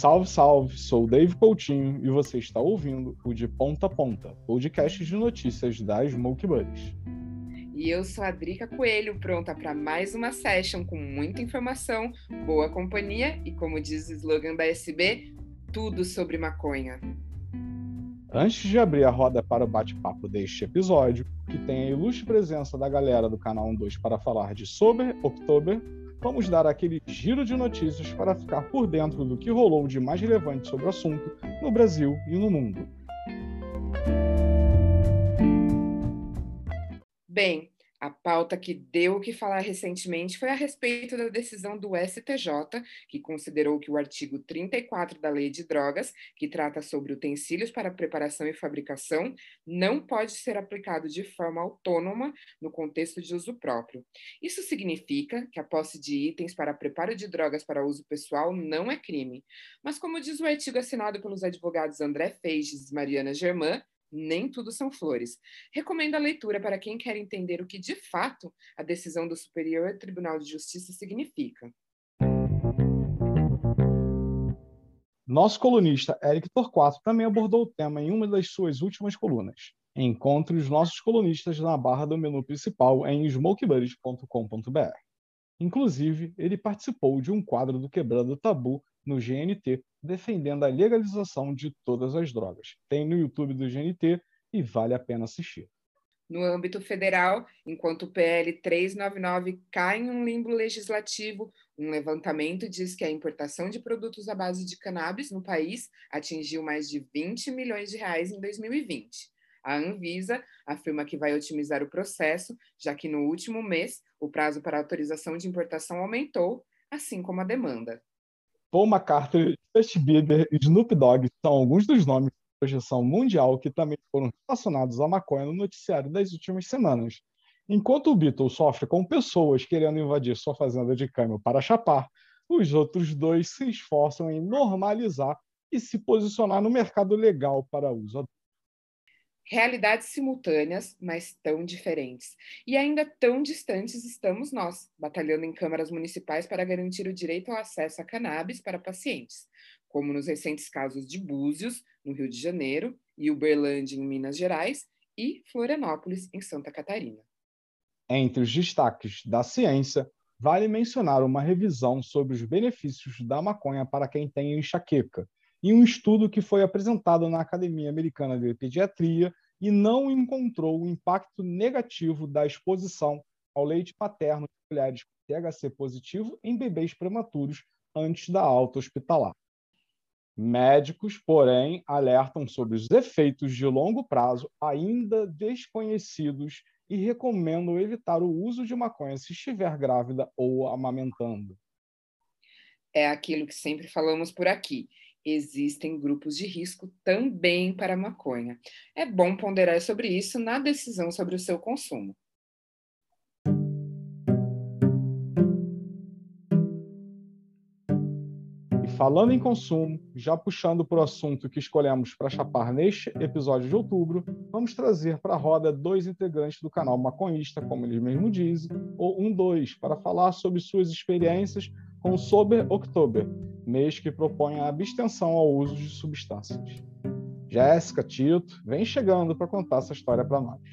Salve, salve! Sou o Dave Coutinho e você está ouvindo o De Ponta a Ponta, podcast de notícias da Smoke Buddies. E eu sou a Drica Coelho, pronta para mais uma session com muita informação, boa companhia e, como diz o slogan da SB, tudo sobre maconha. Antes de abrir a roda para o bate-papo deste episódio, que tem a ilustre presença da galera do canal 12 para falar de Sober October, vamos dar aquele giro de notícias para ficar por dentro do que rolou de mais relevante sobre o assunto no Brasil e no mundo. Bem, a pauta que deu o que falar recentemente foi a respeito da decisão do STJ, que considerou que o artigo 34 da Lei de Drogas, que trata sobre utensílios para preparação e fabricação, não pode ser aplicado de forma autônoma no contexto de uso próprio. Isso significa que a posse de itens para preparo de drogas para uso pessoal não é crime. Mas, como diz o artigo assinado pelos advogados André Feijes e Mariana Germán, nem tudo são flores. Recomendo a leitura para quem quer entender o que, de fato, a decisão do Superior Tribunal de Justiça significa. Nosso colunista Eric Torquato também abordou o tema em uma das suas últimas colunas. Encontre os nossos colunistas na barra do menu principal em smokebuddies.com.br. Inclusive, ele participou de um quadro do Quebrando Tabu no GNT, defendendo a legalização de todas as drogas. Tem no YouTube do GNT e vale a pena assistir. No âmbito federal, enquanto o PL 399 cai em um limbo legislativo, um levantamento diz que a importação de produtos à base de cannabis no país atingiu mais de 20 milhões de reais em 2020. A Anvisa afirma que vai otimizar o processo, já que no último mês o prazo para autorização de importação aumentou, assim como a demanda. Paul McCartney, Justin Bieber e Snoop Dogg são alguns dos nomes de projeção mundial que também foram relacionados à maconha no noticiário das últimas semanas. Enquanto o Beatles sofre com pessoas querendo invadir sua fazenda de câmbio para chapar, os outros dois se esforçam em normalizar e se posicionar no mercado legal para uso adulto. Realidades simultâneas, mas tão diferentes. E ainda tão distantes estamos nós, batalhando em câmaras municipais para garantir o direito ao acesso a cannabis para pacientes, como nos recentes casos de Búzios, no Rio de Janeiro, e Uberlândia, em Minas Gerais, e Florianópolis, em Santa Catarina. Entre os destaques da ciência, vale mencionar uma revisão sobre os benefícios da maconha para quem tem enxaqueca, e um estudo que foi apresentado na Academia Americana de Pediatria e não encontrou o impacto negativo da exposição ao leite materno de mulheres com THC positivo em bebês prematuros antes da alta hospitalar. Médicos, porém, alertam sobre os efeitos de longo prazo ainda desconhecidos e recomendam evitar o uso de maconha se estiver grávida ou amamentando. É aquilo que sempre falamos por aqui. Existem grupos de risco também para a maconha. É bom ponderar sobre isso na decisão sobre o seu consumo. E falando em consumo, já puxando para o assunto que escolhemos para chapar neste episódio de outubro, vamos trazer para a roda dois integrantes do canal Maconhista, como eles mesmos dizem, ou 12, para falar sobre suas experiências com o Sober October, mês que propõe a abstenção ao uso de substâncias. Jéssica, Tito, vem chegando para contar essa história para nós.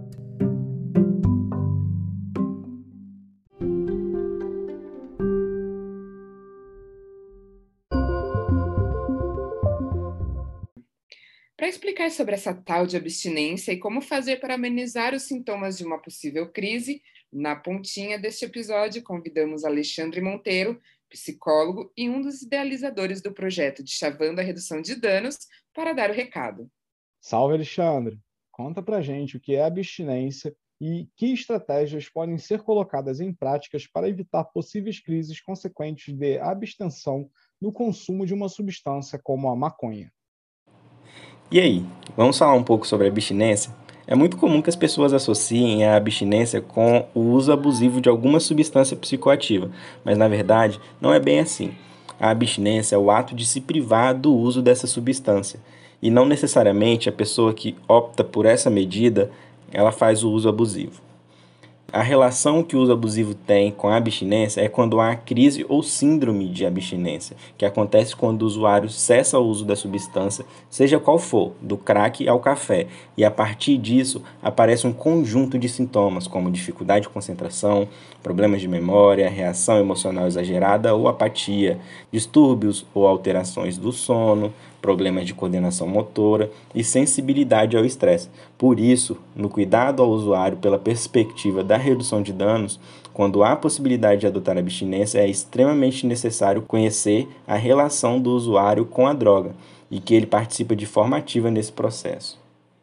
Para explicar sobre essa tal de abstinência e como fazer para amenizar os sintomas de uma possível crise, na pontinha deste episódio convidamos Alexandre Monteiro, psicólogo e um dos idealizadores do projeto de Chavando a Redução de Danos, para dar o recado. Salve, Alexandre! Conta pra gente o que é abstinência e que estratégias podem ser colocadas em práticas para evitar possíveis crises consequentes de abstenção no consumo de uma substância como a maconha. E aí, vamos falar um pouco sobre a abstinência? É muito comum que as pessoas associem a abstinência com o uso abusivo de alguma substância psicoativa, mas na verdade não é bem assim. A abstinência é o ato de se privar do uso dessa substância, e não necessariamente a pessoa que opta por essa medida, ela faz o uso abusivo. A relação que o uso abusivo tem com a abstinência é quando há crise ou síndrome de abstinência, que acontece quando o usuário cessa o uso da substância, seja qual for, do crack ao café, e a partir disso aparece um conjunto de sintomas, como dificuldade de concentração, problemas de memória, reação emocional exagerada ou apatia, distúrbios ou alterações do sono, problemas de coordenação motora e sensibilidade ao estresse. Por isso, no cuidado ao usuário pela perspectiva da redução de danos, quando há possibilidade de adotar abstinência, é extremamente necessário conhecer a relação do usuário com a droga e que ele participa de forma ativa nesse processo.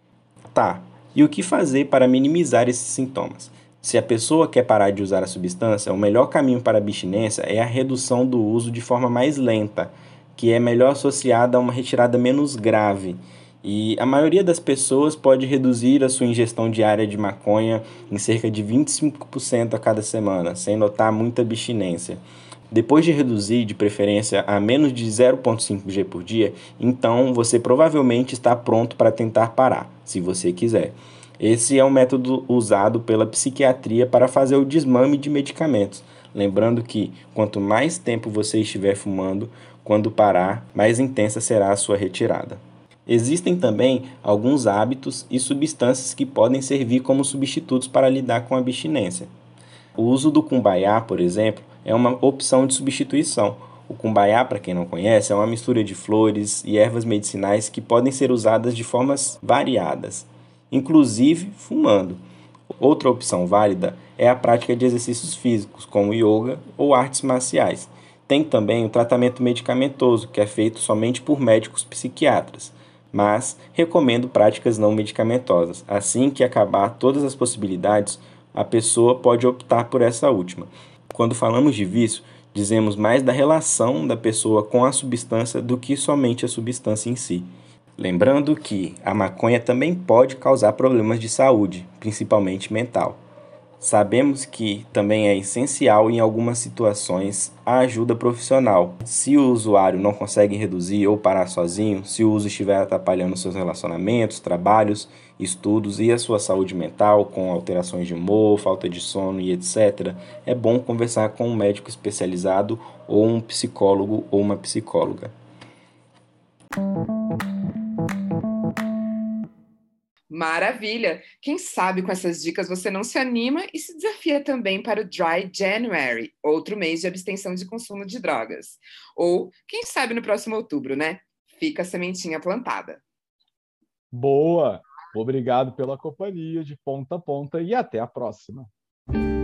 Tá, e o que fazer para minimizar esses sintomas? Se a pessoa quer parar de usar a substância, o melhor caminho para a abstinência é a redução do uso de forma mais lenta, que é melhor associada a uma retirada menos grave. E a maioria das pessoas pode reduzir a sua ingestão diária de maconha em cerca de 25% a cada semana, sem notar muita abstinência. Depois de reduzir, de preferência, a menos de 0,5 g por dia, então você provavelmente está pronto para tentar parar, se você quiser. Esse é um método usado pela psiquiatria para fazer o desmame de medicamentos. Lembrando que quanto mais tempo você estiver fumando, quando parar, mais intensa será a sua retirada. Existem também alguns hábitos e substâncias que podem servir como substitutos para lidar com a abstinência. O uso do cumbaiá, por exemplo, é uma opção de substituição. O cumbaiá, para quem não conhece, é uma mistura de flores e ervas medicinais que podem ser usadas de formas variadas, inclusive fumando. Outra opção válida é a prática de exercícios físicos, como yoga ou artes marciais. Tem também o tratamento medicamentoso, que é feito somente por médicos psiquiatras, mas recomendo práticas não medicamentosas. Assim que acabar todas as possibilidades, a pessoa pode optar por essa última. Quando falamos de vício, dizemos mais da relação da pessoa com a substância do que somente a substância em si. Lembrando que a maconha também pode causar problemas de saúde, principalmente mental. Sabemos que também é essencial em algumas situações a ajuda profissional. Se o usuário não consegue reduzir ou parar sozinho, se o uso estiver atrapalhando seus relacionamentos, trabalhos, estudos e a sua saúde mental, com alterações de humor, falta de sono e etc., é bom conversar com um médico especializado ou um psicólogo ou uma psicóloga. Maravilha! Quem sabe com essas dicas você não se anima e se desafia também para o Dry January, outro mês de abstenção de consumo de drogas. Ou, quem sabe no próximo outubro, né? Fica a sementinha plantada. Boa! Obrigado pela companhia de ponta a ponta e até a próxima.